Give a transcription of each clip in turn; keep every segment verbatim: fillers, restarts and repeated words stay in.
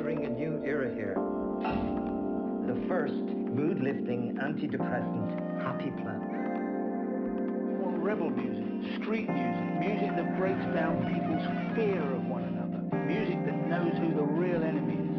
entering a new era here. The first mood-lifting, antidepressant, happy plant. Want rebel music, street music, music that breaks down people's fear of one another, music that knows who the real enemy is.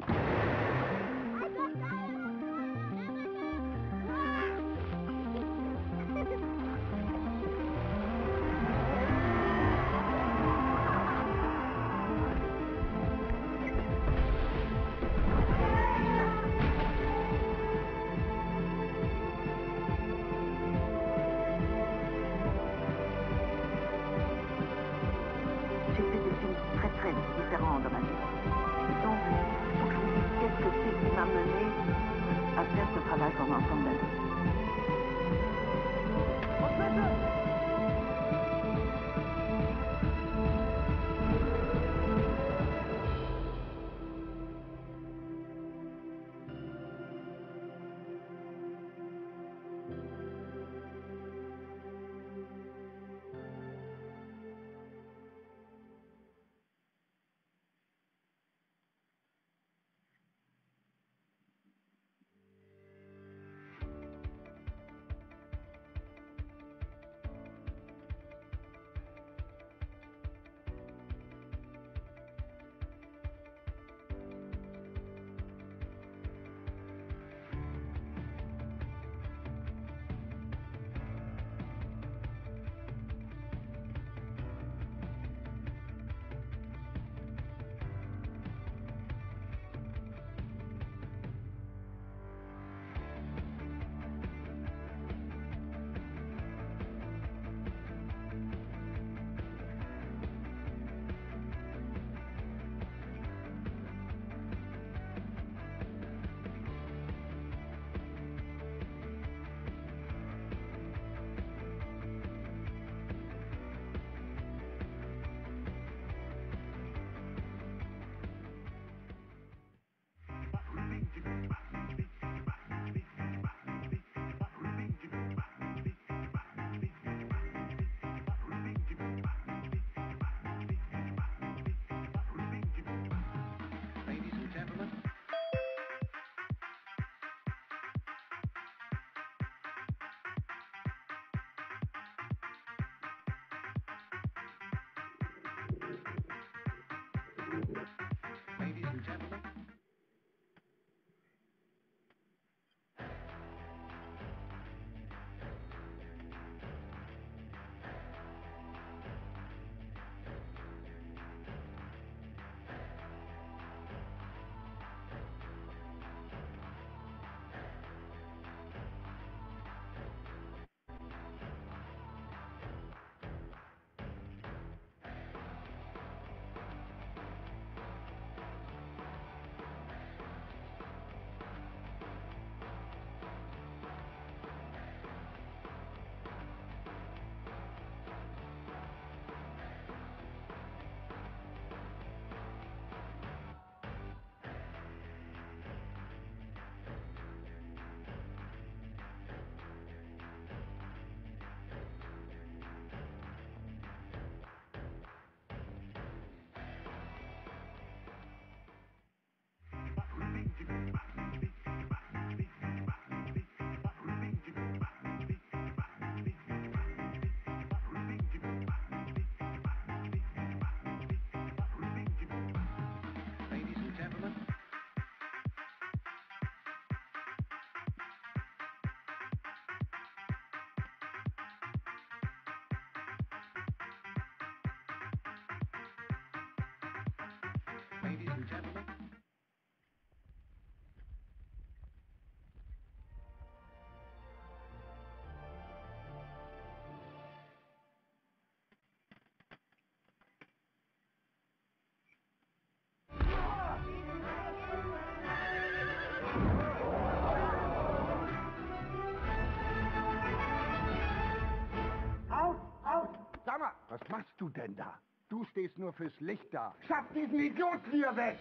Was machst du denn da? Du stehst nur fürs Licht da. Schaff diesen Idioten hier weg!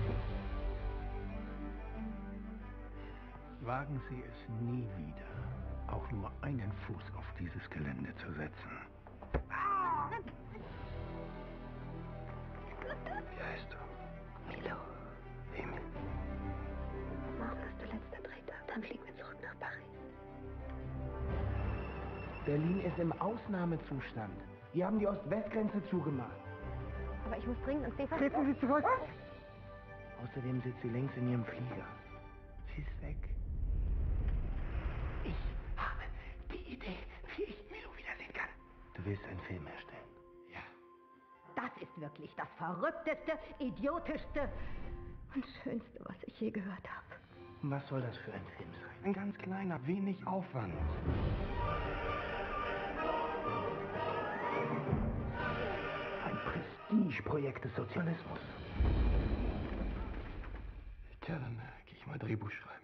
Wagen Sie es nie wieder, auch nur einen Fuß auf dieses Gelände zu setzen. Ah! Wie heißt du? Milo. Dann fliegen wir zurück nach Paris. Berlin ist im Ausnahmezustand. Die haben die Ost-West-Grenze zugemacht. Aber ich muss dringend ins D V. Treten Sie zurück! Außerdem sitzt sie längst in ihrem Flieger. Sie ist weg. Ich habe die Idee, wie ich Milo wiedersehen kann. Du willst einen Film erstellen? Ja. Das ist wirklich das verrückteste, idiotischste und schönste, was ich je gehört habe. Was soll das für ein Film sein? Ein ganz kleiner, wenig Aufwand. Ein Prestigeprojekt des Sozialismus. Tja, dann äh, gehe ich mal Drehbuch schreiben.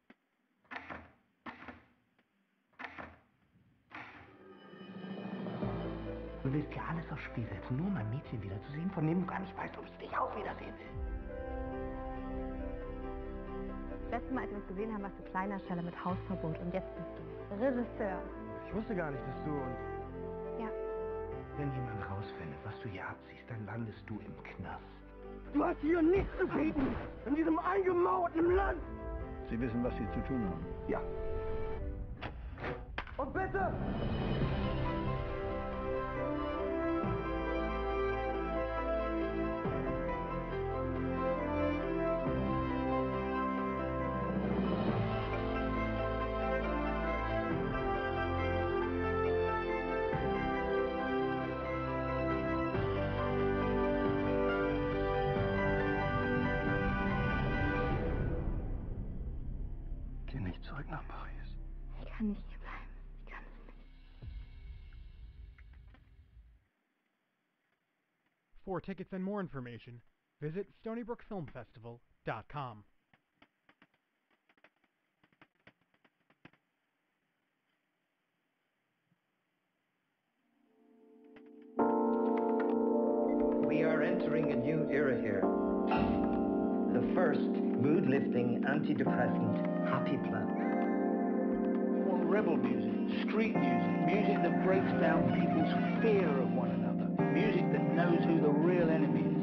Du willst ja alles aufs Spiel setzen, nur um ein Mädchen wiederzusehen, von dem du gar nicht weißt, ob ich dich auch wiedersehen will. Das letzte Mal, als wir uns gesehen haben, warst du Kleindarsteller mit Hausverbot und jetzt bist du Regisseur. Ich wusste gar nicht, dass du und... Ja. Wenn jemand rausfindet, was du hier abziehst, dann landest du im Knast. Du hast hier nichts zu bieten, in diesem eingemauerten Land. Sie wissen, was Sie zu tun haben. Ja. Und bitte! Geh nicht zurück nach Paris. Ich kann nicht hier bleiben. Ich kann es nicht. For tickets and more information, visit stony brook film festival dot com. We are entering a new era here. The first mood-lifting, antidepressant, happy plant. I want rebel music, street music, music that breaks down people's fear of one another, music that knows who the real enemy is.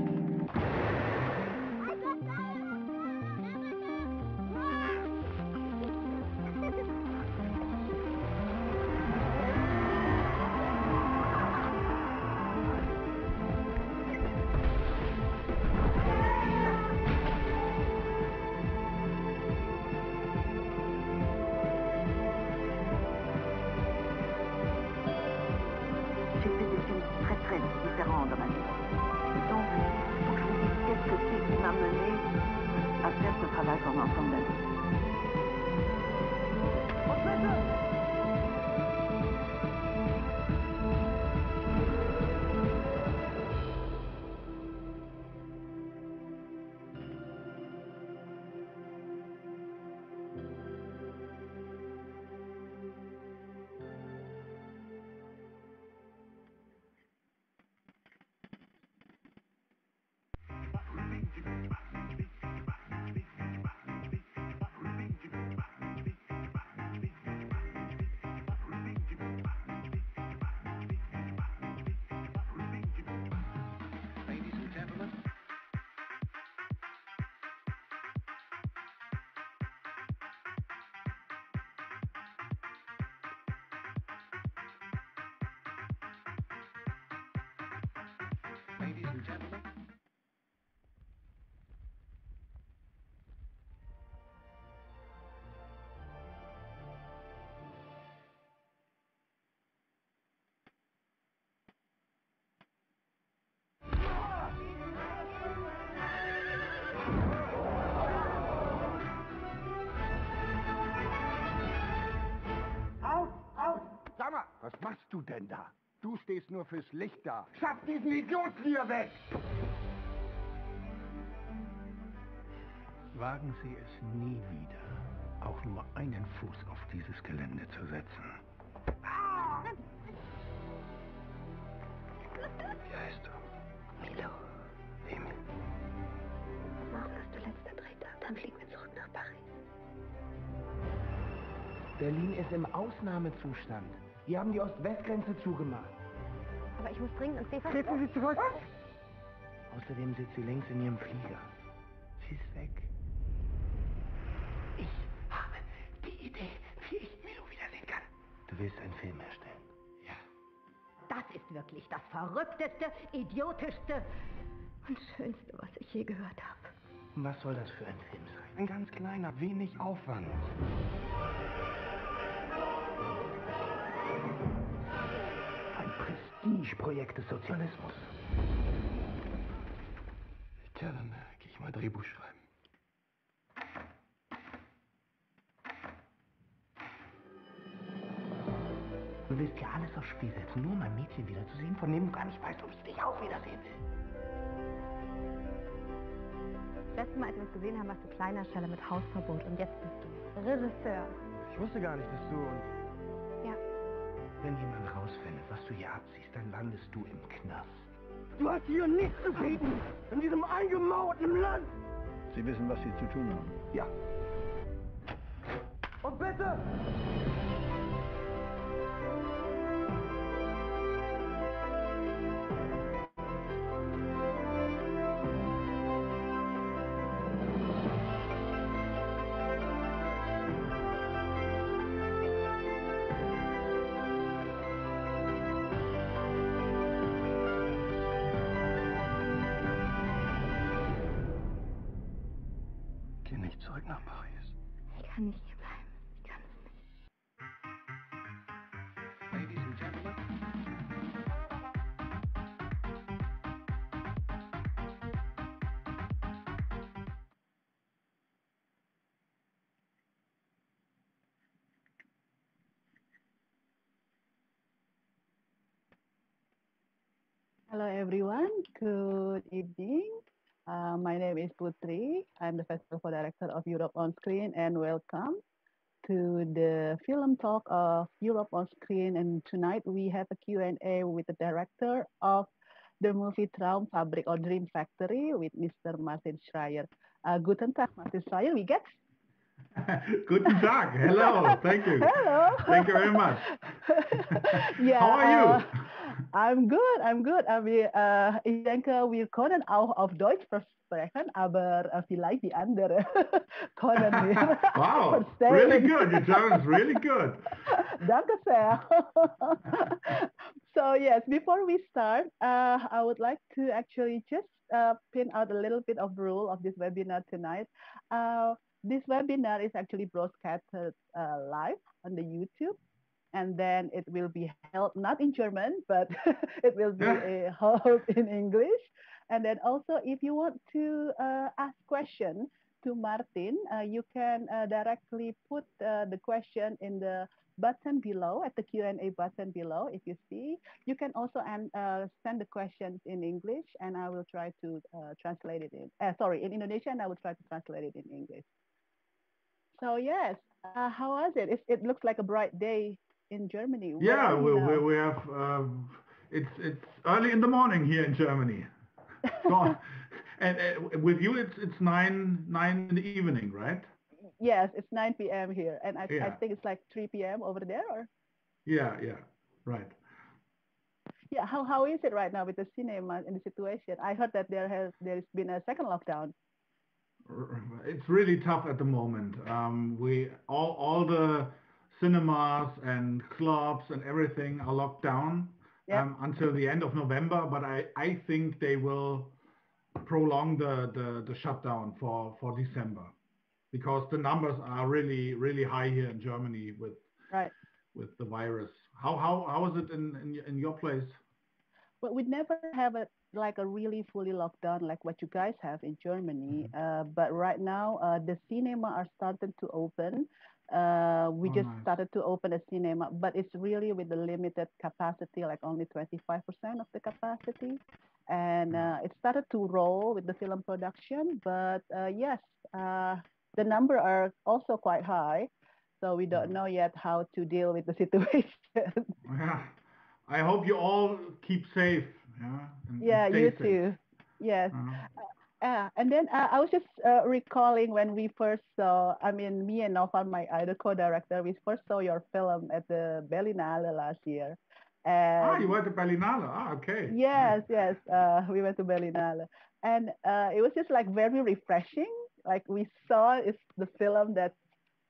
J'ai fait des films très très différents dans ma vie. Donc, faut que je vous dise qu'est-ce que c'est qui m'a mené à faire ce travail pendant ensemble d'années. Ladies and gentlemen. Ladies and gentlemen. Aus, aus! Sag mal, was machst du denn da? Du stehst nur fürs Licht da. Schaff diesen Idioten hier weg! Wagen Sie es nie wieder, auch nur einen Fuß auf dieses Gelände zu setzen. Wie heißt du? Milo, Emil. morgen ist der letzte Drehtag. Dann fliegen wir zurück nach Paris. Berlin ist im Ausnahmezustand. Die haben die Ost-West-Grenze zugemacht. Aber ich muss dringend ins D V. Treten Sie zurück! Außerdem sitzt sie längst in ihrem Flieger. Sie ist weg. Ich habe Du willst einen Film erstellen? Ja. Das ist wirklich das verrückteste, idiotischste und schönste, was ich je gehört habe. Und was soll das für ein Film sein? Ein ganz kleiner, wenig Aufwand. Ein Prestigeprojekt des Sozialismus. Tja, dann äh, gehe ich mal Drehbuch schreiben. Du willst ja alles aufs Spiel setzen, nur um ein Mädchen wiederzusehen, von dem du gar nicht weißt, ob sie dich auch wiedersehen will. Das letzte Mal, als wir uns gesehen haben, warst du Kleindarsteller mit Hausverbot und jetzt bist du Regisseur. Ich wusste gar nicht, dass du und... Ja. Wenn jemand rausfindet, was du hier abziehst, dann landest du im Knast. Du hast hier nichts zu bieten, in diesem eingemauerten Land. Sie wissen, was Sie zu tun haben. Ja. Und bitte! Geh nicht zurück nach Paris. Ich kann nicht hier bleiben. Ich kann es nicht. Ladies and gentlemen. Hello everyone, good evening. Uh, my name is Putri. I'm the Festival Director of Europe on Screen, and welcome to the film talk of Europe on Screen. And tonight we have a Q and A with the director of the movie Traumfabrik or Dream Factory with Mister Martin Schreier. Uh, guten Tag, Martin Schreier, wie geht's? Guten Tag. Hello. Thank you. Hello. Thank you very much. Yeah, How are you? Uh, I'm good, I'm good. Aber uh, ich denke, wir können auch auf Deutsch sprechen, aber uh, vielleicht die andere können wir Wow, verstehen. really good. Your German is really good. Danke sehr. So yes, before we start, uh, I would like to actually just uh, pin out a little bit of rule of this webinar tonight. Uh, this webinar is actually broadcasted uh, live on the YouTube. And then it will be held not in German, but it will be uh, held in English. And then also, if you want to uh, ask questions to Martin, uh, you can uh, directly put uh, the question in the button below, at the Q and A button below. If you see, you can also uh, send the questions in English, and I will try to uh, translate it in. Uh, sorry, in Indonesian, and I will try to translate it in English. So yes, uh, how was it? it? It looks like a bright day in Germany. Where Yeah, are you we, now? we, we have, um, it's, it's early in the morning here in Germany. So, and uh, with you, it's, it's nine, nine in the evening, right? Yes, it's nine p m here. And I, Yeah. I think it's like three p m over there, or? Yeah, yeah, right. Yeah, how, how is it right now with the cinema and the situation? I heard that there has there's been a second lockdown. It's really tough at the moment. Um, we all all the cinemas and clubs and everything are locked down Yep. um, until the end of November. But I, I think they will prolong the, the, the shutdown for, for December because the numbers are really really high here in Germany with Right. with the virus. How how how is it in in, in your place? But we never have a like a really fully locked down like what you guys have in Germany. Mm-hmm. Uh, but right now, uh, the cinema are starting to open. Uh, we Oh, just nice. started to open a cinema, but it's really with the limited capacity, like only twenty-five percent of the capacity. And uh, it started to roll with the film production, but uh, yes, uh, the number are also quite high. So we don't know yet how to deal with the situation. Yeah. I hope you all keep safe. Yeah. And, Yeah, and stay you safe. too. Yes. Uh-huh. Uh, and then uh, I was just uh, recalling when we first saw, I mean, me and Novan, my other co-director, we first saw your film at the Berlinale last year. And Ah, you went to Berlinale. Ah, okay. yes, yes, uh, we went to Berlinale. And uh, it was just like very refreshing. Like we saw it's the film that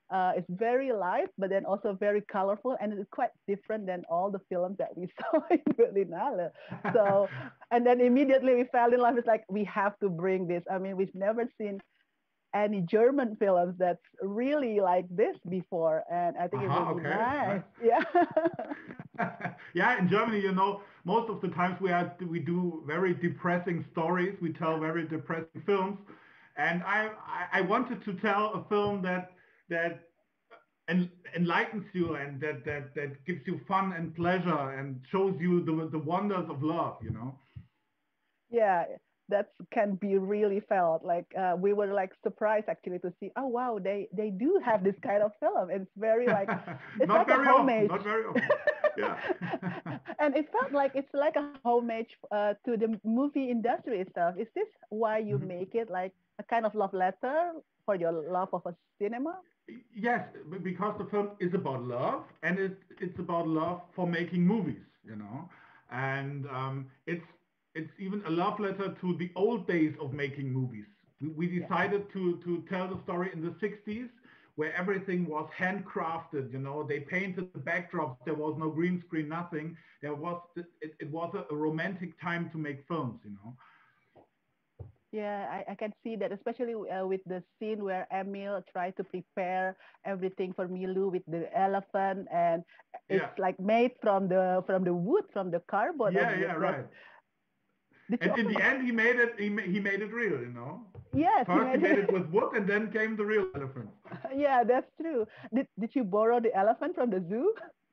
Uh, it's very light, but then also very colorful, and it's quite different than all the films that we saw in Berlinale. So, and then immediately we fell in love. It's like we have to bring this. I mean, we've never seen any German films that's really like this before, and I think it Uh-huh, will be okay, nice. nice. Yeah. Yeah, in Germany, you know, most of the times we are we do very depressing stories. We tell very depressing films, and I I, I wanted to tell a film that that en, enlightens you and that that that gives you fun and pleasure and shows you the the wonders of love. You know. Yeah, that can be really felt. Like uh, we were like surprised actually to see, oh wow, they they do have this kind of film. It's very like it's Not like a very often. homage. Not very often. Yeah. And it felt like it's like a homage uh, to the movie industry itself. Is this why you Mhm. make it like a kind of love letter for your love of a cinema? Yes, b- because the film is about love, and it, it's about love for making movies, you know, and um, it's it's even a love letter to the old days of making movies. We, we Yeah. decided to to tell the story in the sixties, where everything was handcrafted. You know, they painted the backdrops. There was no green screen, nothing. There was it, it was a, a romantic time to make films. You know. Yeah, I, I can see that, especially uh, with the scene where Emil tried to prepare everything for Milu with the elephant, and Yeah. it's like made from the from the wood, from the cardboard Yeah, of the yeah, yes. right. Did you And in also- the end, he made it. He, ma- he made it real, you know. Yes, he First, he made made it. it with wood, and then came the real elephant. Yeah, that's true. Did Did you borrow the elephant from the zoo?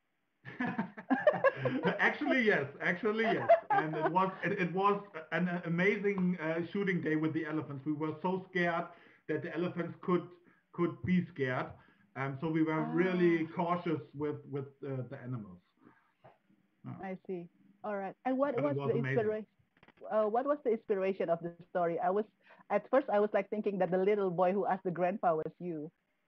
Actually, yes. Actually, yes. And it was it, it was an amazing uh, shooting day with the elephants. We were so scared that the elephants could could be scared, um, so we were really Ah, cautious with with uh, the animals. Uh, I see. All right. And what but it was was the amazing. inspiration? Uh, what was the inspiration of the story? I was at first I was like thinking that the little boy who asked the grandpa was you.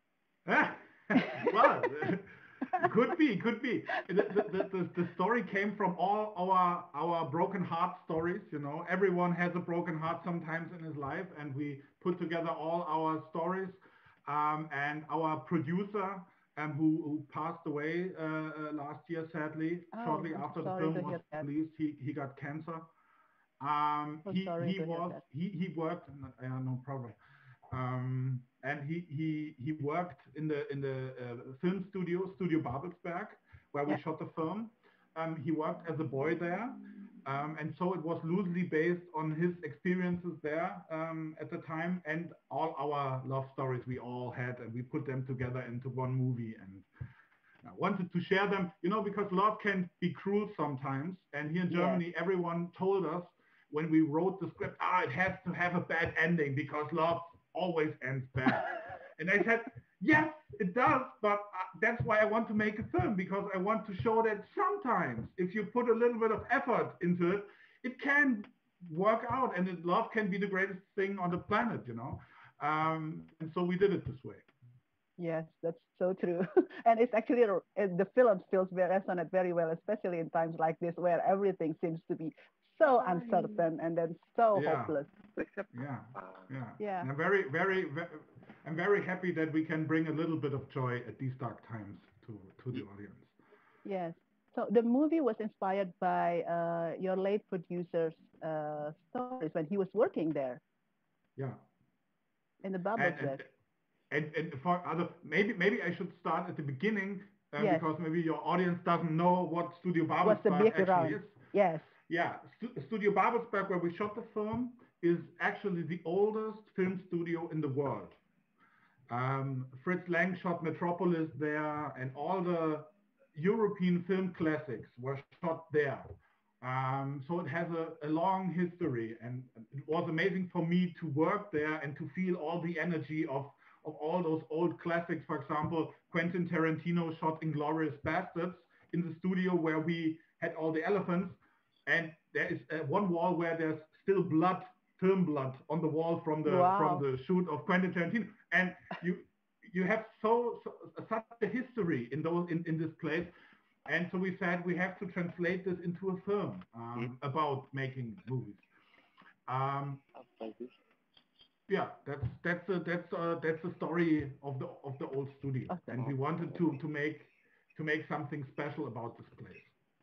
Well, could be, could be. The, the, the, the story came from all our our broken heart stories. You know, everyone has a broken heart sometimes in his life, and we put together all our stories. Um, and our producer, um, who, who passed away uh, uh, last year, sadly, Oh, shortly I'm so after the sorry film to was hear that. released, he, he got cancer. Um, So he sorry he to hear was that. he he worked. Uh, no problem. Um, and he he he worked in the in the uh, film studio, Studio Babelsberg, where we Yeah. shot the film. Um, he worked as a boy there, um, and so it was loosely based on his experiences there um, at the time, and all our love stories we all had, and we put them together into one movie. And I wanted to share them, you know, because love can be cruel sometimes. And here in Yes. Germany, everyone told us when we wrote the script, ah, it has to have a bad ending because love always ends bad. And I said, yes, it does, but uh, that's why I want to make a film, because I want to show that sometimes if you put a little bit of effort into it, it can work out, and it, love can be the greatest thing on the planet, you know. Um, and so we did it this way. Yes, that's so true. And it's actually a- uh, the film feels very resonate very well, especially in times like this where everything seems to be so uncertain and then so Yeah. hopeless. Yeah, yeah. Yeah. And I'm very, very, very, I'm very happy that we can bring a little bit of joy at these dark times to to the audience. Yes. So the movie was inspired by uh, your late producer's uh, stories when he was working there Yeah. in the And and Babelsberg. and, and for other, maybe maybe I should start at the beginning uh, Yes. because maybe your audience doesn't know what Studio What's the Babelsberg actually background? is. Yes. Yeah, Stu- Studio Babelsberg, where we shot the film, is actually the oldest film studio in the world. Um, Fritz Lang shot Metropolis there, and all the European film classics were shot there. Um, so it has a, a long history, and it was amazing for me to work there and to feel all the energy of, of all those old classics. For example, Quentin Tarantino shot Inglourious Bastards in the studio where we had all the elephants, and there is uh, one wall where there's still blood, film blood on the wall from the from Wow. the shoot of Quentin Tarantino, and you you have so, so such a history in those in, in this place. And so we said we have to translate this into a film um, about making movies. Um, Yeah, that's that's a, that's uh that's the story of the of the old studio, Okay. and we wanted to to make to make something special about this place.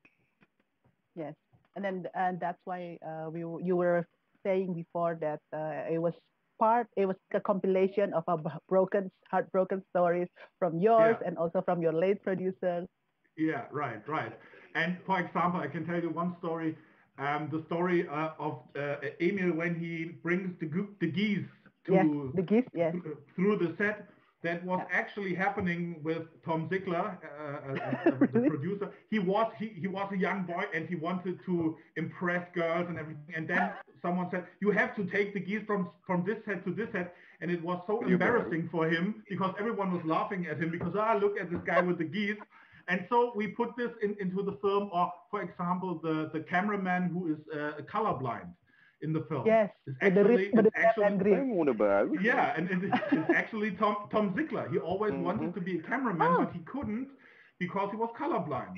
Yes, and then and that's why uh, we w- you were saying before that uh, it was part it was a compilation of a b- broken heartbroken stories from yours Yeah, and also from your late producers. yeah, right, right. And for example, I can tell you one story. Um, the story uh, of uh, Emil when he brings the goo- the geese Yes, to the gift. Yes, th- through the set. That was yeah. actually happening with Tom Ziegler, uh, uh, uh, the Really? producer. He was he, he was a young boy and he wanted to impress girls and everything. And then someone said, "You have to take the geese from from this set to this set." And it was so embarrassing for him because everyone was laughing at him because ah, look at this guy with the geese. And so we put this in, into the film. Or for example, the the cameraman who is uh, colorblind in the film Yes, is with the red, actually with is the red actually and green. yeah, and it is it's actually Tom Tom Ziegler. He always wanted to be a cameraman, Oh, but he couldn't because he was colorblind.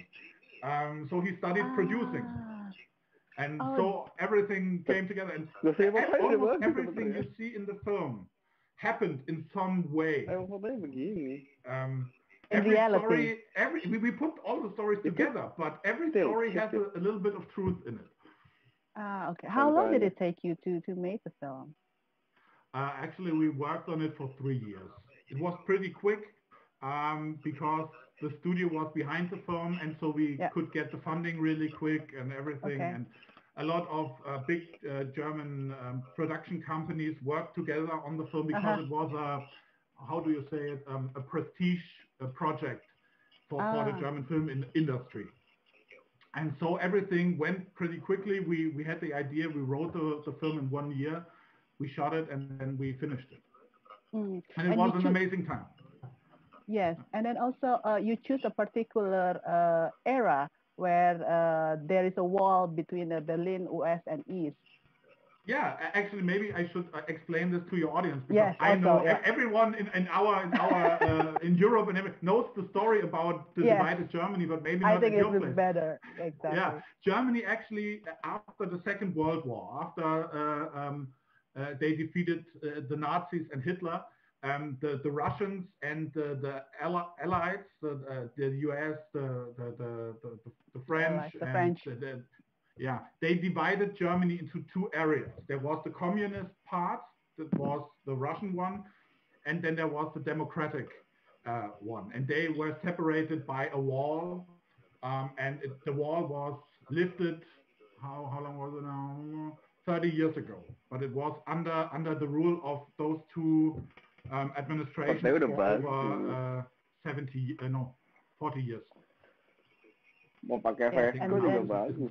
Um, so he studied producing, ah, and oh, so everything came together. And Loh, saya e- makanya dia almost bagus everything sebenarnya. you see in the film happened in some way. Emang fotonya begini. Um, in every reality. story, every we, we put all the stories Itu together, but every still, story has still. a, a little bit of truth in it. Ah, okay. How long did Makanya. it take you to to make the film? Uh, actually, we worked on it for three years. It was pretty quick um, because the studio was behind the film, and so we Yeah. could get the funding really quick and everything. Okay. And a lot of uh, big uh, German um, production companies worked together on the film because Uh-huh. it was a, how do you say it, um, a prestige uh, project for, for the Ah, German film in industry. And so everything went pretty quickly. We we had the idea. We wrote the, the film in one year. We shot it and then we finished it. mm. And it And was you an choose amazing time. yes, and then also uh, you choose a particular uh, era where uh, there is a wall between uh, Berlin, West, and East. Yeah, a- actually, maybe I should uh, explain this to your audience because Yes, I also, know e- yeah. everyone in, in our in our uh, in Europe and every, knows the story about the Yes, divided Germany, but maybe I not think at it your was place. better. Yeah, Exactly. Germany actually uh, after the Second World War, after uh, um, uh, they defeated uh, the Nazis and Hitler, um, the the Russians and the the Alli- allies, the uh, the U S, the the the, the, the The French, Allies, the and French. the, the yeah, they divided Germany into two areas. There was the communist part, that was the Russian one, and then there was the democratic uh, one. And they were separated by a wall, um, and it, the wall was lifted, how, how long was it now? thirty years ago. But it was under, under the rule of those two um, administrations Partai udah for over bagus. uh, seventy, uh, no, forty years. Mau pakai Yes, Vesco and juga then bagus.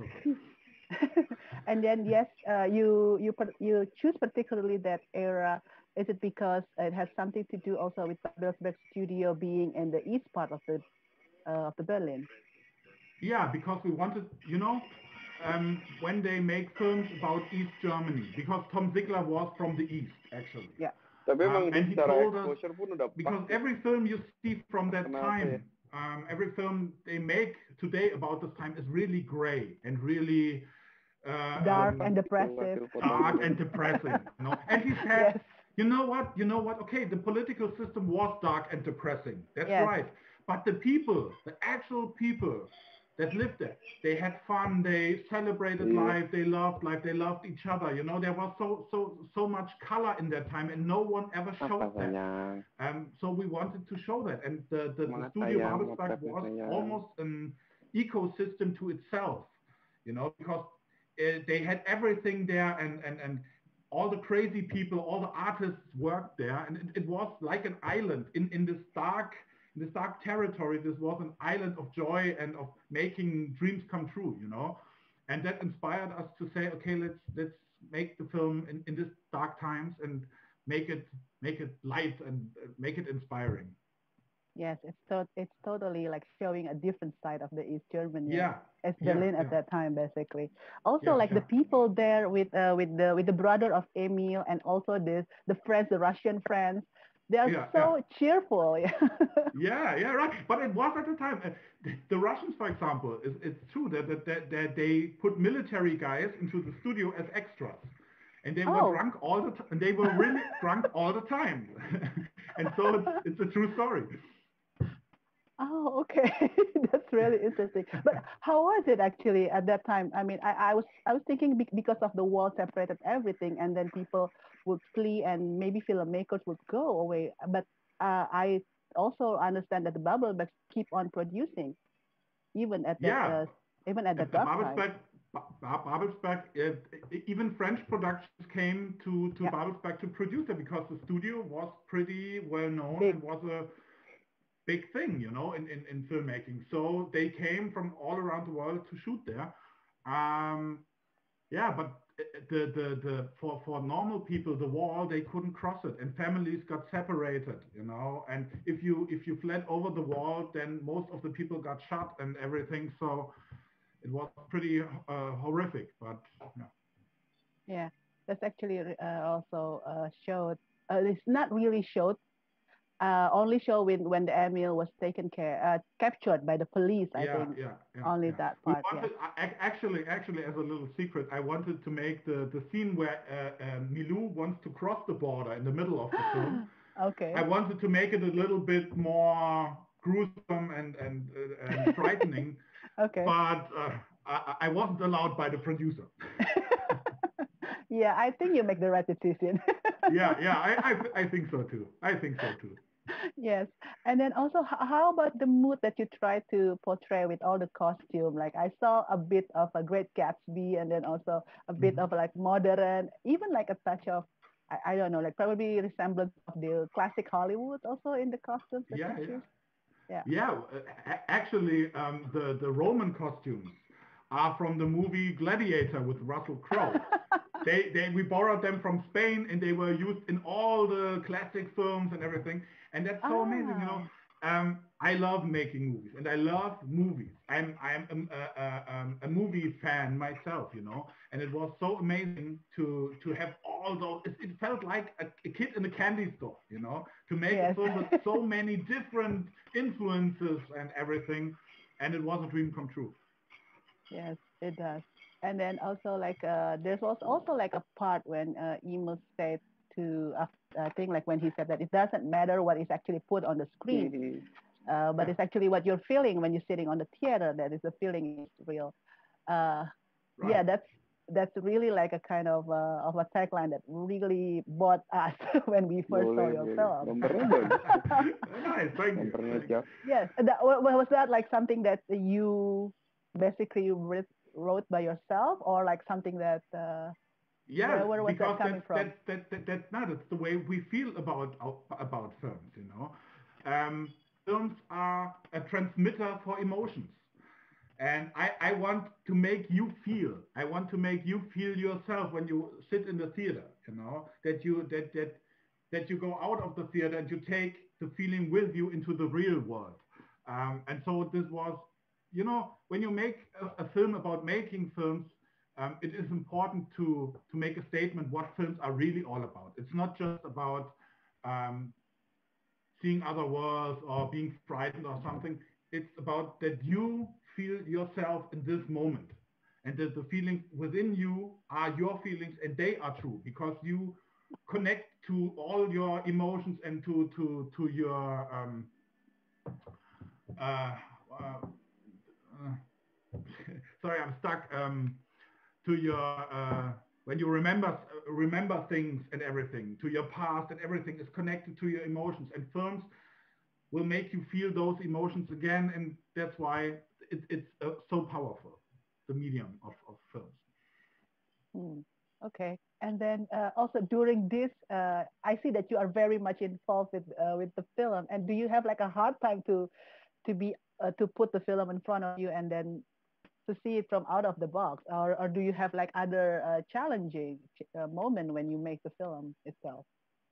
and then yes, uh, you you par- you choose particularly that era. Is it because it has something to do also with Babelsberg Studio being in the east part of the uh, of the Berlin? Yeah, because we wanted, you know, um, when they make films about East Germany, because Tom Ziegler was from the East, actually. Yeah. Tapi Um, emang and he secara told us, exposure pun udah pas. because Ya. every film you see from that Kenapa ya? time, um, every film they make today about this time is really gray and really uh, Dark um, and depressive. Hasil foto dark gitu. and depressing. You know? And he said, Yes. you know what, you know what, okay, the political system was dark and depressing. That's Yes. right. But the people, the actual people that lived there, they had fun, they celebrated Yeah. life, they loved life, they loved each other. You know, there was so so so much color in that time, and no one ever Apa showed that. sayang? Um, so we wanted to show that, and the the, the Semangat studio sayang, Babelsberg motretnya was sayang. almost an ecosystem to itself. You know, because uh, they had everything there, and and and all the crazy people, all the artists worked there, and it, it was like an island in in this dark in this dark territory. This was an island of joy and of making dreams come true, you know, and that inspired us to say, okay, let's let's make the film in, in this dark times and make it make it light and uh, make it inspiring. Yes, it's so it's totally like showing a different side of the East Germany. Yeah, As yeah, Berlin at yeah, that time, basically. Also, yeah, like the yeah. people there with uh, with the with the brother of Emil and also the the friends, the Russian friends, they are Yeah, so yeah. cheerful. Yeah. Yeah, yeah, right. But it was at the time. Uh, the, the Russians, for example, is it's true that, that that that they put military guys into the studio as extras, and they Oh. were drunk all the time, and they were really drunk all the time. And so it's, it's a true story. Oh, okay. That's really interesting. But how was it actually at that time? I mean, I, I was I was thinking be- because of the wall separated everything, and then people would flee, and maybe filmmakers would go away. But uh, I also understand that the bubble bags keep on producing, even at that Yeah, uh, even at the at dark time. Babelsberg, Ba- Ba- Babelsberg, uh, even French productions came to, to Yeah. Babelsberg to produce it because the studio was pretty well known Big. and was a big thing, you know, in, in, in filmmaking. So they came from all around the world to shoot there. Um, yeah, but the, the, the, for, for normal people, the wall, they couldn't cross it, and families got separated, you know, and if you, if you fled over the wall, then most of the people got shot and everything. So it was pretty uh, horrific, but yeah. Yeah, that's actually uh, also uh, showed. Uh, it's not really showed. Uh, only show when when the Emil was taken care, uh, captured by the police. I Yeah, think yeah, yeah, only yeah. that We part. Yeah. wanted, ac- actually, actually, as a little secret, I wanted to make the, the scene where uh, uh, Milou wants to cross the border in the middle of the film. Okay. I wanted to make it a little bit more gruesome and and, uh, and frightening, Okay. but uh, I, I wasn't allowed by the producer. Yeah, I think you make the right decision. Yeah, yeah, I, I, I think so too. I think so too. Yes. And then also, h- how about the mood that you try to portray with all the costume? Like I saw a bit of a Great Gatsby, and then also a bit Mhm. of like modern, even like a touch of, I, I don't know, like probably resemblance of the classic Hollywood also in the costumes that Yeah, you yeah. choose. Yeah. Yeah, uh, a- actually, um, the, the Roman costumes are from the movie Gladiator with Russell Crowe. They, they, we borrowed them from Spain, and they were used in all the classic films and everything. And that's so amazing, you know. Ah. Um, I love making movies, and I love movies. I'm, I'm um, a, a, um, a movie fan myself, you know. And it was so amazing to, to have all those. It, it felt like a, a kid in a candy store, you know, to make Yes. a film with so many different influences and everything. And it was a dream come true. Yes, it does. And then also like uh, there was also like a part when uh, Emil said to uh, I think like when he said that it doesn't matter what is actually put on the screen, Mm-hmm. uh, but Yeah. it's actually what you're feeling when you're sitting on the theater that is the feeling is real. Uh, yeah, Right. that's that's really like a kind of uh, of a tagline that really bought us when we first saw Boleh, your boleh. film. Gambarnya bagus. Nice, thank you. Gambarnya Thank you. siap. Yes, that, wa- wa- was that like something that you basically writ- wrote by yourself, or like something that uh, Yeah, where, where was because that coming that's from? that's that, that that's not it's the way we feel about our- about films, you know. Um, films are a transmitter for emotions, and I I want to make you feel. I want to make you feel yourself when you sit in the theater, you know, that you that that that you go out of the theater and you take the feeling with you into the real world. Um, and so this was, you know, when you make a, a film about making films, um, it is important to to make a statement what films are really all about. It's not just about um, seeing other worlds or being frightened or something. It's about that you feel yourself in this moment, and that the feelings within you are your feelings, and they are true because you connect to all your emotions and to to to your um, uh, uh, uh, sorry, I'm stuck. Um, to your uh, when you remember uh, remember things and everything, to your past, and everything is connected to your emotions. And films will make you feel those emotions again, and that's why it, it's uh, so powerful, the medium of, of films. Hmm. Okay. And then uh, also during this, uh, I see that you are very much involved with uh, with the film. And do you have like a hard time to to be uh, to put the film in front of you and then to see it from out of the box, or or do you have like other uh, challenging uh, moment when you make the film itself?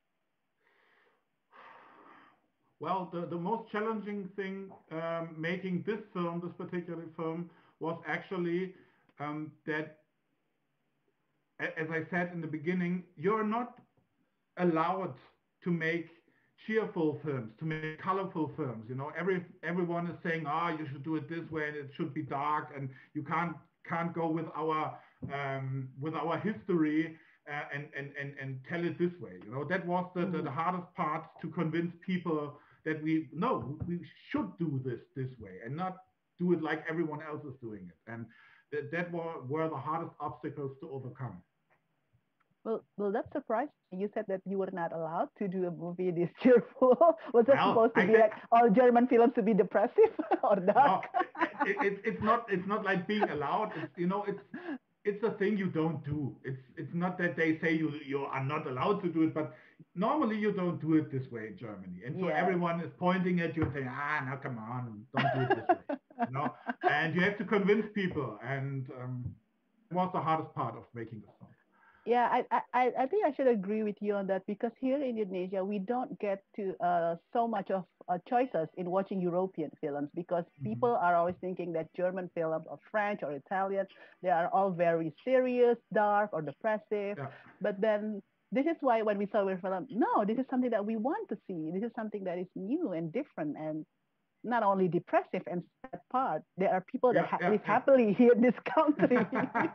Well, the, the most challenging thing um, making this film, this particular film, was actually um, that, as I said in the beginning, you're not allowed to make cheerful films, to make colorful films. You know, every everyone is saying, ah, you should do it this way, and it should be dark, and you can't can't go with our um, with our history. uh, and, and, and, and tell it this way. You know, that was the, Mm-hmm. the, the hardest part, to convince people that we, no, we should do this this way and not do it like everyone else is doing it. And that, that were, were the hardest obstacles to overcome. Well, well, that surprised me. You said that you were not allowed to do a movie this cheerful. Was it Well, supposed to I be can- like all German films to be depressive or No, dark? it, it, it's not. It's not like being allowed. It's, you know, it's it's a thing you don't do. It's it's not that they say you you are not allowed to do it, but normally you don't do it this way in Germany. And so Yes. everyone is pointing at you and saying, ah, now come on, don't do it this way. You know, and you have to convince people, and um, it was the hardest part of making the film. Yeah, I, I, I think I should agree with you on that, because here in Indonesia, we don't get to uh, so much of uh, choices in watching European films, because Mm-hmm. people are always thinking that German films or French or Italian, they are all very serious, dark, or depressive. Yeah. But then this is why when we saw your film, no, this is something that we want to see. This is something that is new and different, and not only depressive and sad part. There are people that Yeah, ha- yeah, live yeah. happily here in this country.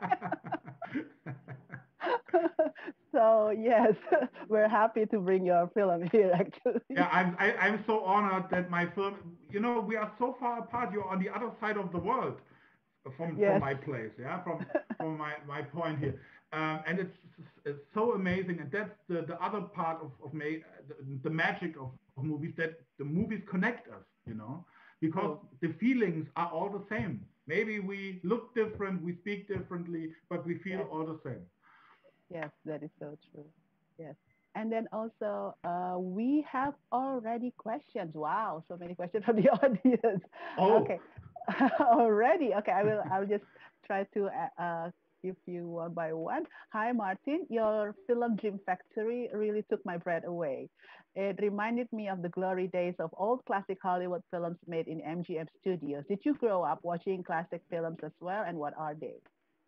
So yes, we're happy to bring your film here, actually. Yeah, I'm I, I'm so honored that my film. You know, we are so far apart. You're on the other side of the world from Yes. from my place. Yeah, from from my my point here. Um, and it's it's so amazing, and that's the, the other part of of ma- the, the magic of, of movies, that the movies connect us. You know, because Oh. the feelings are all the same. Maybe we look different, we speak differently, but we feel Yes. all the same. Yes, that is so true. Yes. And then also, uh, we have already questions. Wow, so many questions from the audience. Oh. Okay. Already. Okay, I will I'll just try to uh, uh, give you one by one. Hi, Martin. Your film Dream Factory really took my breath away. It reminded me of the glory days of old classic Hollywood films made in M G M Studios. Did you grow up watching classic films as well, and what are they?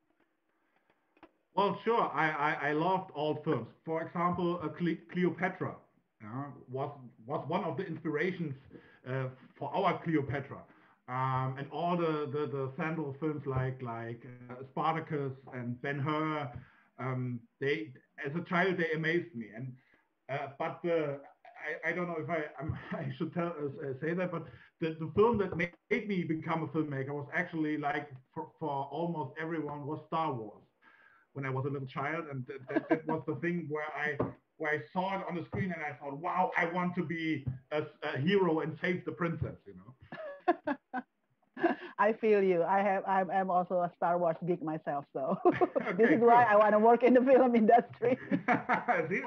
Well, sure. I, I, I loved old films. For example, uh, Cle- Cleopatra uh, was was one of the inspirations uh, for our Cleopatra, um, and all the, the, the Sandal films like like uh, Spartacus and Ben Hur. Um, they, as a child, they amazed me. And uh, but the I, I don't know if I I'm, I should tell uh, say that, but the, the film that made me become a filmmaker was actually, like, for, for almost everyone, was Star Wars. When I was a little child, and that, that, that was the thing where I where I saw it on the screen and I thought, wow, I want to be a, a hero and save the princess, you know. I feel you. I have. I'm, I'm also a Star Wars geek myself, so Okay, this is why good. I want to work in the film industry. See?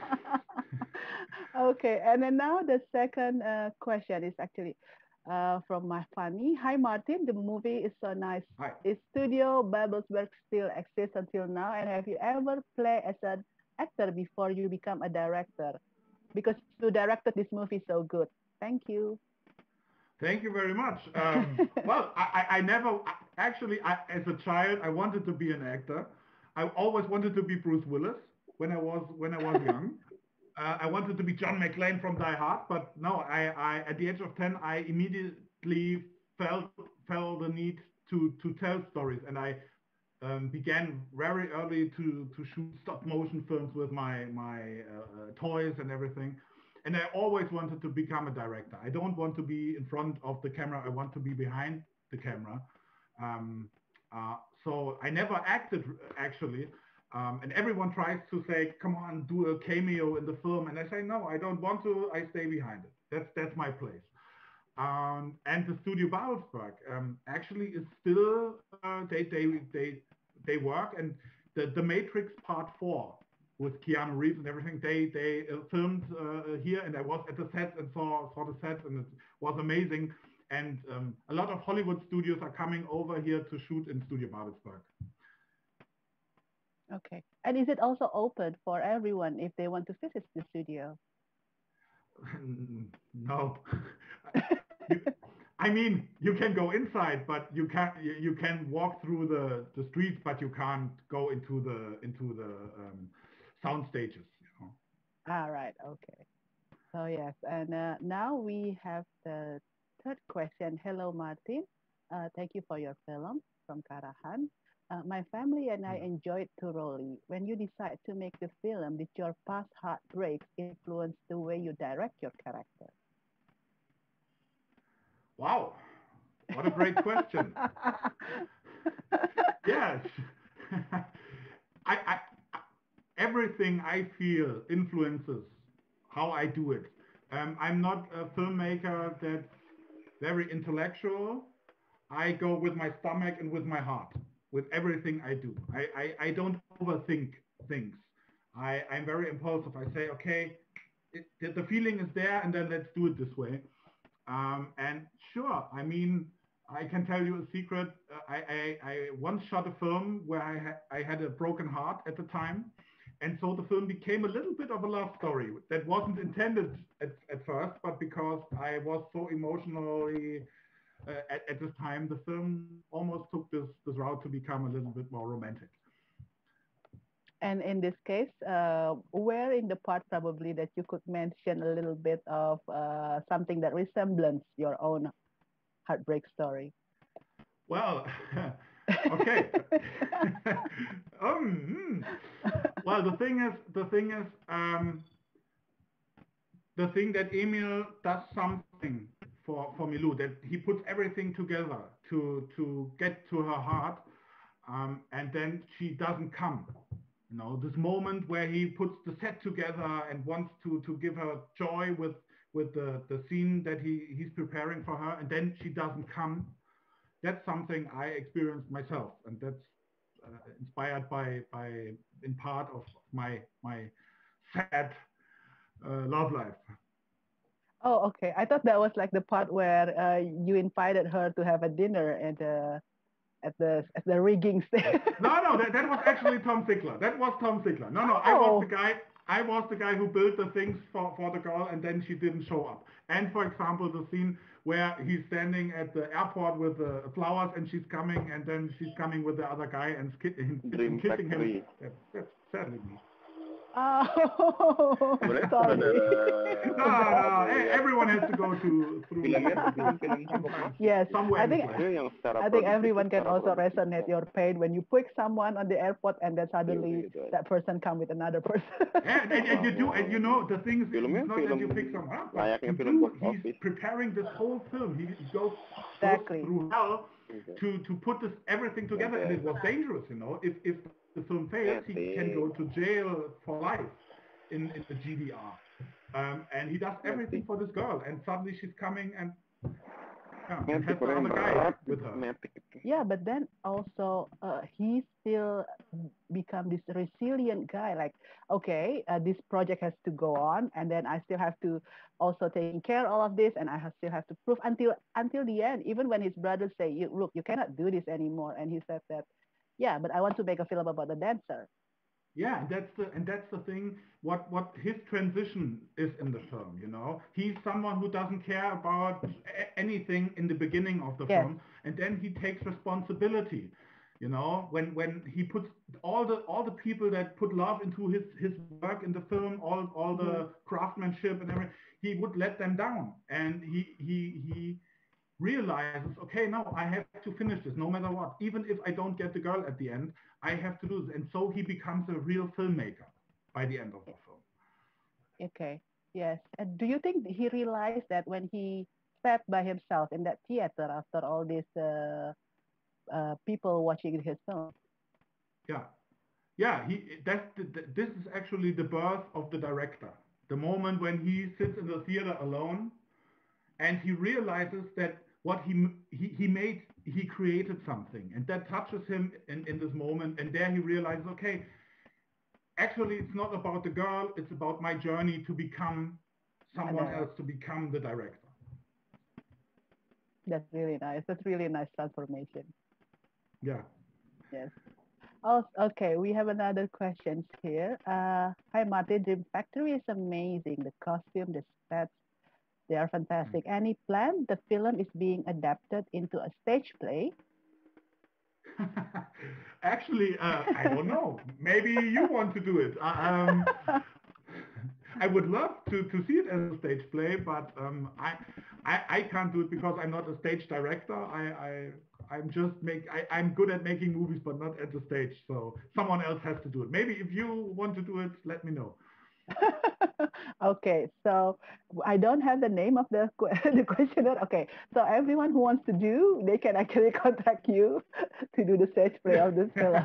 Okay, and then now the second uh, question is actually uh, from my Fanny. Hi, Martin. The movie is so nice. Hi. Is Studio Babelsberg still exists until now? And have you ever played as an actor before you become a director? Because you directed this movie so good. Thank you. Thank you very much. Um, well, I, I I never, actually, I, as a child, I wanted to be an actor. I always wanted to be Bruce Willis when I was when I was young. Uh, I wanted to be John McClane from Die Hard, but no, I, I at the age of ten, I immediately felt felt the need to to tell stories, and I um, began very early to to shoot stop motion films with my my uh, uh, toys and everything. And I always wanted to become a director. I don't want to be in front of the camera. I want to be behind the camera. Um, uh, so I never acted, actually. Um, and everyone tries to say, come on, do a cameo in the film. And I say, no, I don't want to. I stay behind it. That's, that's my place. Um, and the Studio Babelsberg um, actually is still, uh, they, they, they, they work. And the, the Matrix Part four, with Keanu Reeves and everything, they they uh, filmed uh, here, and I was at the set and saw saw the sets, and it was amazing. And um, a lot of Hollywood studios are coming over here to shoot in Studio Babelsberg. Okay. And is it also open for everyone if they want to visit the studio? No. you, I mean, you can go inside, but you can you, you can walk through the, the streets, but you can't go into the into the um, sound stages. You know. All right. Okay. So yes, and uh, now we have the third question. Hello, Martin. Uh, thank you for your film from Karahan. Uh, my family and I enjoyed thoroughly. When you decide to make the film, did your past heartbreaks influence the way you direct your character? Wow, what a great question. Yes. I, I, everything I feel influences how I do it. Um, I'm not a filmmaker that's very intellectual. I go with my stomach and with my heart, with everything I do. I, I, I don't overthink things. I, I'm very impulsive. I say, okay, it, the feeling is there, and then let's do it this way. Um, and sure, I mean, I can tell you a secret. Uh, I, I, I once shot a film where I, ha I had a broken heart at the time. And so the film became a little bit of a love story that wasn't intended at, at first, but because I was so emotionally uh, at, at this time, the film almost took this, this route to become a little bit more romantic. And in this case, uh, where in the part probably that you could mention a little bit of uh, something that resembles your own heartbreak story? Well, okay. um, well, the thing is, the thing is, um, the thing that Emil does something for for Milou, that he puts everything together to to get to her heart, um, and then she doesn't come. You know, this moment where he puts the set together and wants to to give her joy with with the the scene that he he's preparing for her, and then she doesn't come. That's something I experienced myself, and that's uh, inspired by by in part of my my sad uh, love life. Oh, okay. I thought that was like the part where uh, you invited her to have a dinner at the at the at the rigging stage. No, no, that, that was actually Tom Ziegler. That was Tom Ziegler. No, no, oh. I was the guy. I was the guy who built the things for, for the girl, and then she didn't show up. And for example, the scene where he's standing at the airport with the flowers, and she's coming, and then she's coming with the other guy and, sk- and kissing him. That, that's sadly me. Oh, sorry. no, no, everyone has to go to through. Yes, somewhere I think I think everyone can also resonate your pain when you pick someone on the airport and then suddenly that person come with another person. and, and, and you do, and you know the thing is, it's not that you pick someone up, but you do, he's preparing this whole film. He goes, exactly. goes through hell to to put this everything together, and it was dangerous, you know. If if the film fails, he can go to jail for life in, in the G D R. Um, and he does everything for this girl, and suddenly she's coming and, yeah, and has the other guy with her. Yeah, but then also uh, he still become this resilient guy. Like, okay, uh, this project has to go on, and then I still have to also taking care of all of this, and I have, still have to prove until until the end. Even when his brothers say, "You look, you cannot do this anymore," and he said that, yeah, but I want to make a film about the dancer. Yeah, and that's the and that's the thing. What what his transition is in the film, you know, he's someone who doesn't care about a- anything in the beginning of the yes. film, and then he takes responsibility. You know, when when he puts all the all the people that put love into his his work in the film, all all the mm-hmm. craftsmanship and everything, he would let them down, and he he he. realizes, okay, now I have to finish this no matter what. Even if I don't get the girl at the end, I have to do this. And so he becomes a real filmmaker by the end of the film. Okay, yes. And do you think he realized that when he sat by himself in that theater after all these uh, uh, people watching his film? Yeah. Yeah, he, that's the, the, this is actually the birth of the director. The moment when he sits in the theater alone and he realizes that what he, he he made, he created something, and that touches him in, in this moment. And there he realizes, okay, actually it's not about the girl, it's about my journey to become someone else, to become the director. That's really nice. That's really nice transformation. Yeah. Yes. Oh, okay, we have another question here. Uh, hi, Martin. Dream Factory is amazing. The costume, the sets, they are fantastic. Any plan the film is being adapted into a stage play? Actually, uh, I don't know. Maybe you want to do it. Uh, um, I would love to, to see it as a stage play, but um, I, I I can't do it because I'm not a stage director. I I, I'm just make I, I'm good at making movies, but not at the stage. So someone else has to do it. Maybe if you want to do it, let me know. Okay, so I don't have the name of the que- the questionnaire. Okay, so everyone who wants to do, they can actually contact you to do the stage play of this film.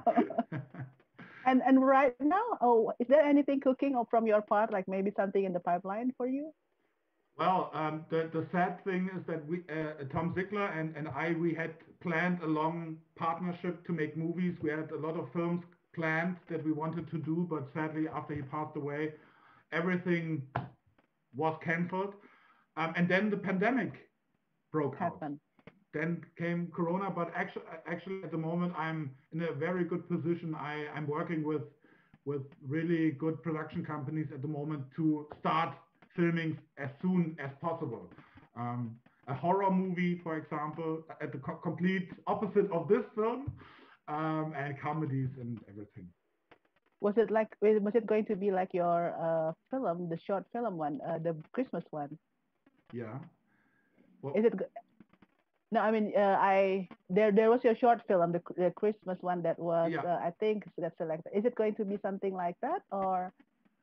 and and right now, oh, is there anything cooking or from your part, like maybe something in the pipeline for you? Well, um, the the sad thing is that we, uh, Tom Ziegler and and I, we had planned a long partnership to make movies. We had a lot of films planned that we wanted to do, but sadly, after he passed away, everything was cancelled. Um, and then the pandemic broke Happened. out. Then came Corona, but actually, actually at the moment, I'm in a very good position. I, I'm working with with really good production companies at the moment to start filming as soon as possible. Um, a horror movie, for example, at the co complete opposite of this film, um, and comedies and everything. Was it like, was it going to be like your uh, film, the short film one, uh, the Christmas one? Yeah. Well, Is it? No, I mean, uh, I there there was your short film, the, the Christmas one that was, yeah. uh, I think that's selected. Is it going to be something like that, or?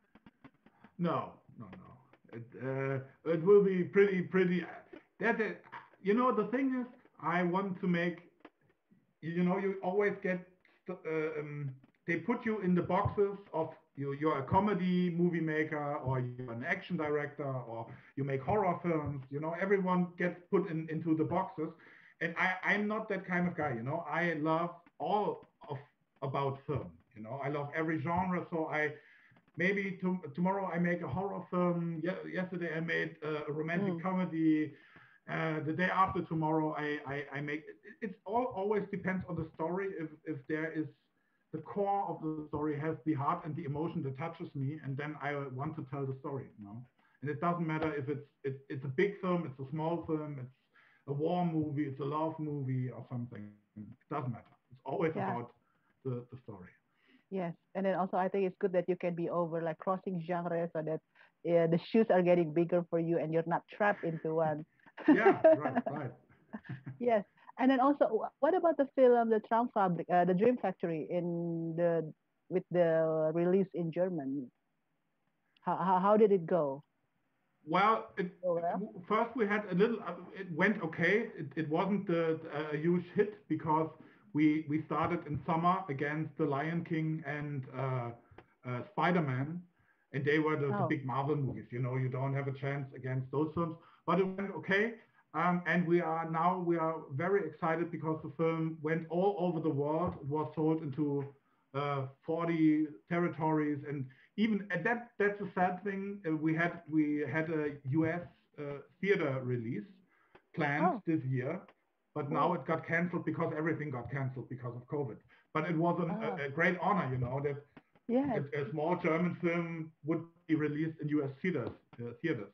No, no, no. It uh, it will be pretty pretty. That is, you know, the thing is, I want to make. You know, you always get. Uh, um, they put you in the boxes of you. You're a comedy movie maker, or you're an action director, or you make horror films. You know, everyone gets put in into the boxes, and I I'm not that kind of guy. You know, I love all of about film. You know, I love every genre, so I. Maybe to, tomorrow I make a horror film. Ye- yesterday I made a, a romantic mm. comedy. Uh, the day after tomorrow I, I, I make. It, it's all always depends on the story. If if there is the core of the story has the heart and the emotion that touches me, and then I want to tell the story. You know, and it doesn't matter if it's it, it's a big film, it's a small film, it's a war movie, it's a love movie or something. It doesn't matter. It's always yeah. about the, the story. Yes, and then also I think it's good that you can be over like crossing genres so that uh, the shoes are getting bigger for you and you're not trapped into one. Yeah, right, right. Yes, and then also, what about the film, the Traumfabrik, uh, the Dream Factory, in the with the release in Germany? How how, how did it go? Well, it, oh, well, first we had a little. Uh, it went okay. It, it wasn't the, a huge hit because. We, we started in summer against The Lion King and uh, uh, Spider-Man, and they were the, oh. the big Marvel movies. You know, you don't have a chance against those films, but it went okay. Um, and we are now we are very excited because the film went all over the world. It was sold into uh, forty territories, and even and that that's a sad thing. Uh, we had we had a U S uh, theater release planned oh. this year. But now it got canceled because everything got canceled because of COVID. But it was an, oh. a, a great honor, you know, that yes. a, a small German film would be released in U S theaters. Uh, theaters.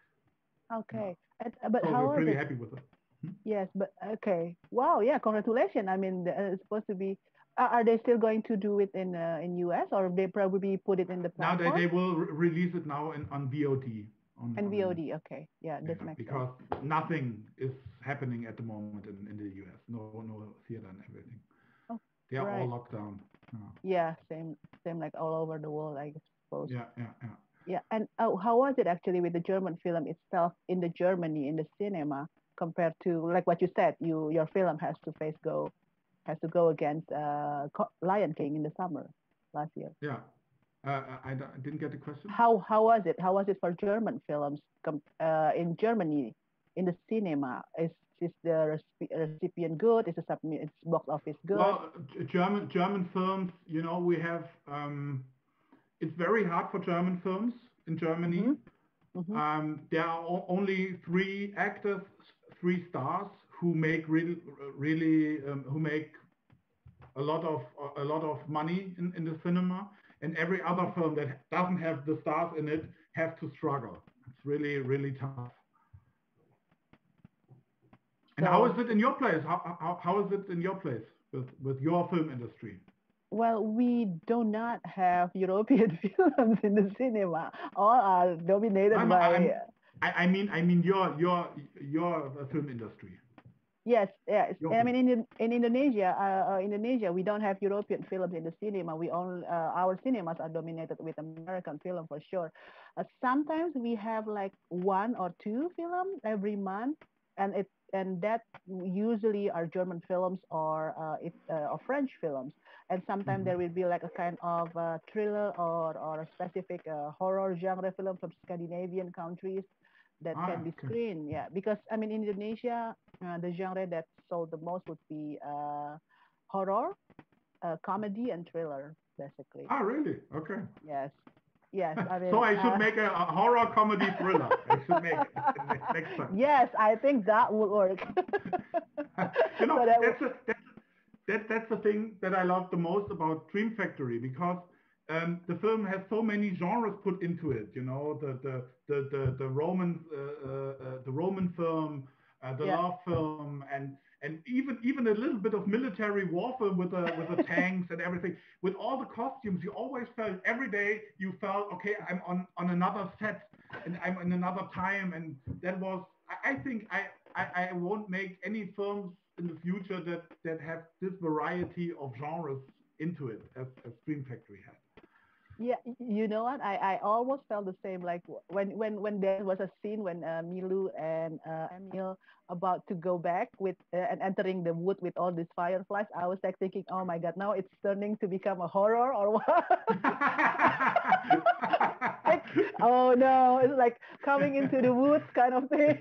Okay, yeah. uh, but so how we're pretty it? happy with it. Hmm? Yes, but okay. Wow, yeah, congratulations. I mean, uh, it's supposed to be. Uh, are they still going to do it in uh, in U S or they probably put it in the platform? Now they, they will re release it now in, on V O D. On, and V O D, okay, yeah, this yeah, makes because sense. nothing is happening at the moment in, in the U S. No, no theater and everything. Oh, they are right. all locked down. Yeah. yeah, same, same like all over the world, I suppose. Yeah, yeah, yeah. Yeah, and oh, how was it actually with the German film itself in the Germany in the cinema compared to like what you said? You your film has to face go, has to go against uh, Lion King in the summer last year. Yeah. Uh, I, I didn't get the question. How how was it? How was it for German films uh, in Germany in the cinema? Is is the recipient good? Is the its box office good? Well, German German films, you know, we have. Um, it's very hard for German films in Germany. Mm-hmm. Mm-hmm. Um, there are only three actors, three stars who make really really um, who make a lot of a lot of money in, in the cinema. And every other film that doesn't have the stars in it has to struggle. It's really, really tough. And so, how is it in your place? How, how, how is it in your place with, with your film industry? Well, we do not have European films in the cinema. All are dominated I'm, by. I'm, I, I mean, I mean your your your film industry. Yes, yes. Your I film. mean, in in Indonesia, uh, uh, Indonesia, we don't have European films in the cinema. We only uh, our cinemas are dominated with American film for sure. Uh, sometimes we have like one or two films every month, and it and that usually are German films or uh, it uh, or French films. And sometimes Mhm. there will be like a kind of uh, thriller or or a specific uh, horror genre film from Scandinavian countries that can Ah, be okay. screened. Yeah, because I mean, in Indonesia, uh, the genre that sold the most would be uh, horror, uh, comedy, and thriller, basically. Ah, really? Okay. Yes, yes. I So mean, I should uh, make a, a horror comedy thriller. I should make it ne- next time. yes, I think that would work. You know, so that would, that's a, that's that that's the thing that I love the most about Dream Factory because um, the film has so many genres put into it. You know, the the the the, the Roman uh, uh, uh, the Roman film, uh, the yeah. love film, and and even even a little bit of military warfare with the with the tanks and everything. With all the costumes, you always felt every day you felt okay. I'm on on another set and I'm in another time, and that was I, I think I, I I won't make any films in the future that that have this variety of genres into it as, as Dream Factory had. Yeah, y- you know what? I, I almost felt the same. Like w- when when when there was a scene when uh, Milu and uh, Emil about to go back with uh, and entering the wood with all these fireflies, I was like thinking, oh my God, now it's turning to become a horror or what? Like, oh no, it's like coming into the woods kind of thing.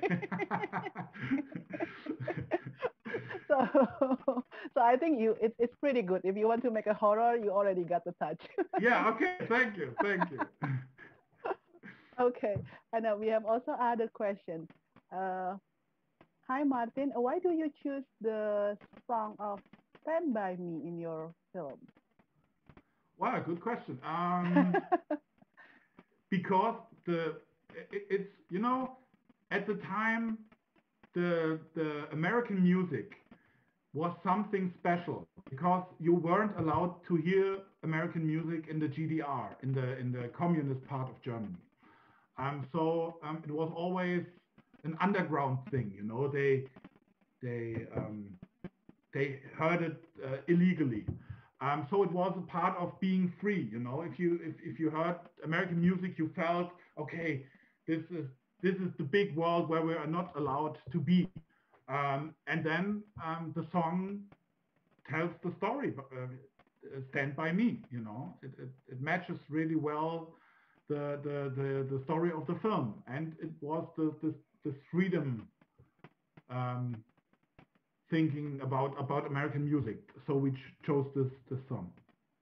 so so I think you it's it's pretty good. If you want to make a horror, you already got the touch. Yeah, okay, thank you, thank you. Okay, and uh, we have also other questions. Uh, hi Martin, why do you choose the song of "Stand by Me" in your film? Wow, good question. Um, because the it, it's you know at the time the the American music was something special because you weren't allowed to hear American music in the G D R, in the in the communist part of Germany. Um, so um, it was always an underground thing, you know. They they um, they heard it uh, illegally. Um, so it was a part of being free, you know. If you if, if you heard American music, you felt okay. This is this is the big world where we are not allowed to be. Um, and then um, the song tells the story. Uh, Stand by Me, you know. It, it, it matches really well the, the the the story of the film, and it was the this this freedom um, thinking about about American music. So we ch- chose this this song.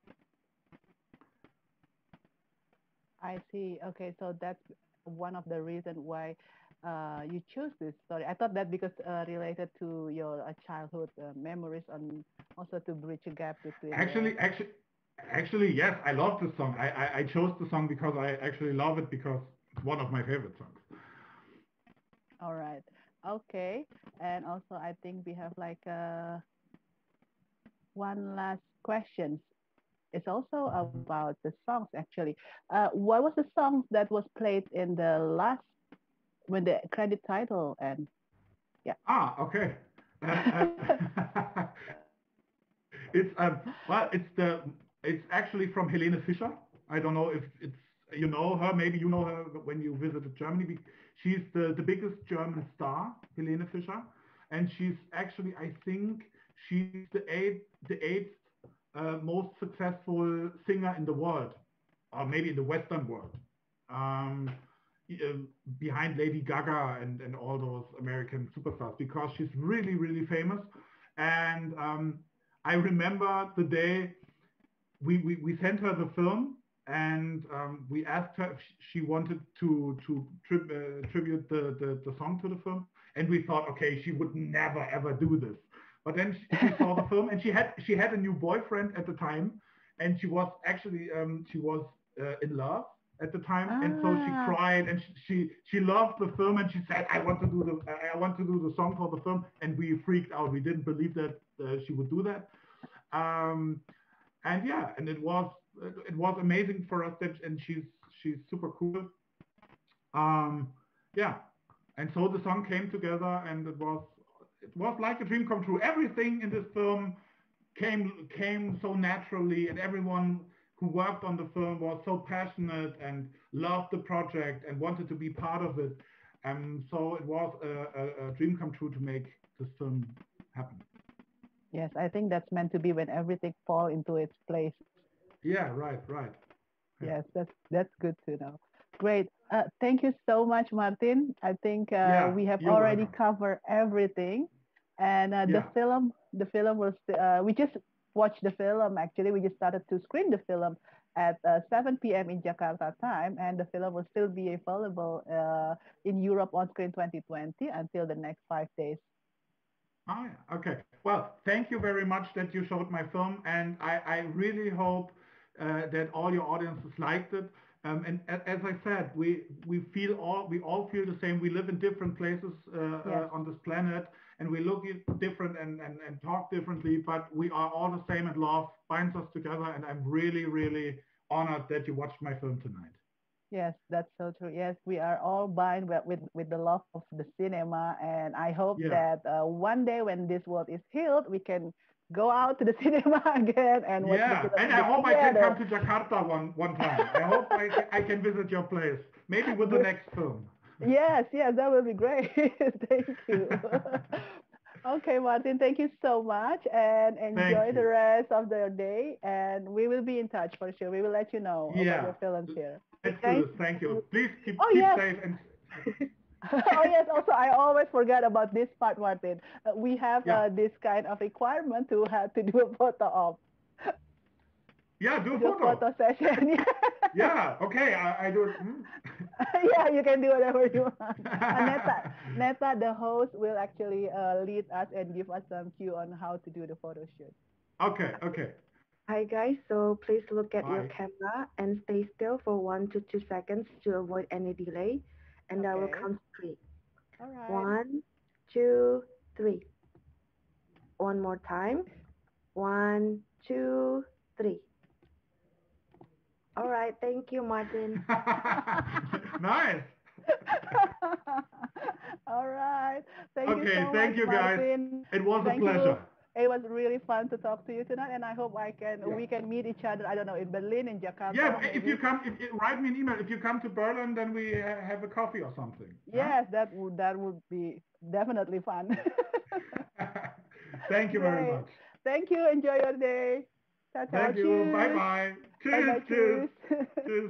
I see. Okay, so that's one of the reasons why uh, you choose this story. I thought that because uh, related to your uh, childhood uh, memories and also to bridge a gap between the. Actually, actually, actually, yes, I love this song. I, I I chose the song because I actually love it because it's one of my favorite songs. All right. Okay. And also, I think we have like uh, one last question. It's also about the songs, actually. Uh, what was the song that was played in the last, when the credit title and yeah. Ah, okay. Uh, uh, it's um well, it's the it's actually from Helene Fischer. I don't know if it's you know her. Maybe you know her when you visited Germany. She's the the biggest German star, Helene Fischer, and she's actually I think she's the eighth the eighth uh, most successful singer in the world, or maybe in the Western world. Um, uh, Behind Lady Gaga and, and all those American superstars because she's really, really famous. And um, I remember the day we, we, we sent her the film and um, we asked her if she wanted to, to tri- uh, tribute the, the, the song to the film. And we thought, okay, she would never, ever do this. But then she saw the film and she had, she had a new boyfriend at the time. And she was actually, um, she was uh, in love at the time, and so she Ah, cried and she, she she loved the film and she said, I want to do the I want to do the song for the film, and we freaked out. We didn't believe that uh, she would do that. Um, and yeah, and it was it was amazing for us that, and she's she's super cool. Um, yeah, and so the song came together, and it was it was like a dream come true. Everything in this film came came so naturally, and everyone who worked on the film was so passionate and loved the project and wanted to be part of it. And so it was a, a, a dream come true to make this film happen. Yes, I think that's meant to be when everything fall into its place. Yeah, right, right. Yeah. Yes, that's that's good to know. Great. Uh, thank you so much, Martin. I think uh, Yeah, we have you're already welcome. covered everything, and uh, the Yeah. film, the film was. Uh, we just watched the film. Actually, we just started to screen the film at uh, seven p m in Jakarta time, and the film will still be available uh, in Europe on Screen twenty twenty until the next five days. Oh, yeah. Okay. Well, thank you very much that you showed my film, and I, I really hope uh, that all your audiences liked it. Um, and a- as I said, we we feel all we all feel the same. We live in different places uh, Yes. uh, on this planet, and we look at different and, and, and talk differently, but we are all the same, and love binds us together. And I'm really, really honored that you watched my film tonight. Yes, that's so true. Yes, we are all bound with, with, with the love of the cinema. And I hope Yeah. that uh, one day when this world is healed, we can go out to the cinema again and watch Yeah, the film and in I the hope I can theater. come to Jakarta one, one time. I hope I, ca- I can visit your place, maybe with the Good. next film. Yes, yes, that will be great. Thank you. Okay, Martin, thank you so much and enjoy the you. rest of the day. And we will be in touch for sure. We will let you know about Yeah, your films here. let's do Thank this. Thank you. you. Please keep Oh, keep yes. safe and Oh yes, also I always forget about this part, Martin. Uh, we have yeah, uh, this kind of requirement to have to do a photo op, yeah. Do to a do a photo. photo session. Yeah. Okay. I, I do it. Hmm? Yeah, you can do whatever you want. Uh, Neta, Neta, the host, will actually uh, lead us and give us some cue on how to do the photo shoot. Okay. Okay. Hi guys, so please look at your Bye. camera and stay still for one to two seconds to avoid any delay. And I will Okay. count three. All right. One, two, three. One more time. One, two, three. All right, thank you, Martin. Nice. All right. Thank you Okay. so much, Thank you, guys. Martin. It was a Thank pleasure. you. It was really fun to talk to you tonight, and I hope I can Yeah. we can meet each other. I don't know, in Berlin, in Jakarta, Yeah. maybe. If you come, if, if- write me an email. If you come to Berlin, then we uh, have a coffee or something. Yes, that would that would be definitely fun. Huh? Thank you very Great. much. Thank you. Enjoy your day. Ciao, ciao. Thank you. Bye Cheers. bye. Bye bye. Cheers. Cheers. Cheers. Cheers.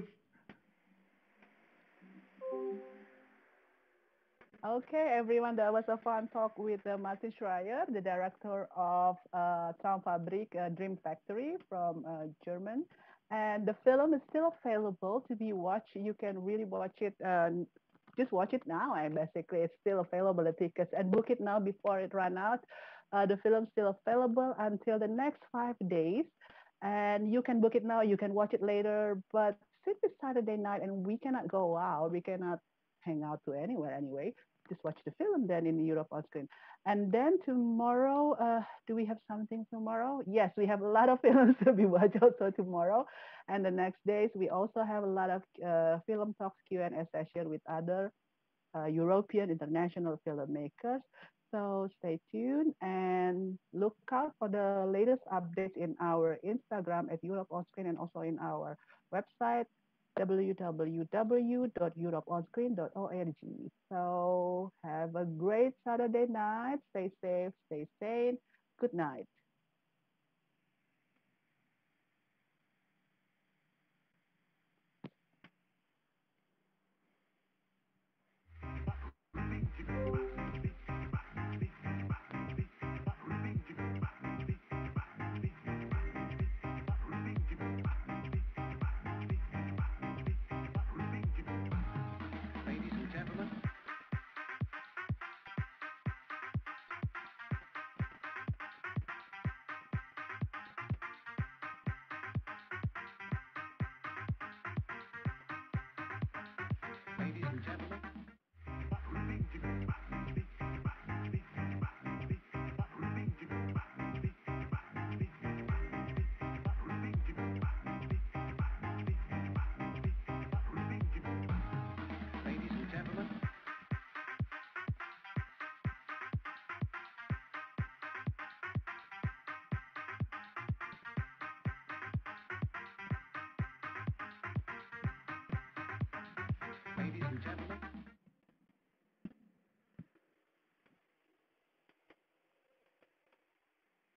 Okay, everyone, that was a fun talk with uh, Martin Schreier, the director of uh, Traumfabrik uh, Dream Factory from uh, German. And the film is still available to be watched. You can really watch it, uh, just watch it now. And basically, it's still available, the tickets, and book it now before it run out. Uh, the film's still available until the next five days. And you can book it now, you can watch it later. But since it's Saturday night and we cannot go out, we cannot hang out to anywhere anyway, just watch the film then in Europe on screen. And then tomorrow, uh, do we have something tomorrow? Yes, we have a lot of films to be watched also tomorrow. And the next days, we also have a lot of uh, film talks Q and A session with other uh, European international filmmakers. So stay tuned and look out for the latest updates in our Instagram at Europe on Screen and also in our website w w w dot europe on screen dot org. So have a great Saturday night. Stay safe, stay sane. Good night. Ladies and gentlemen. Ladies and gentlemen.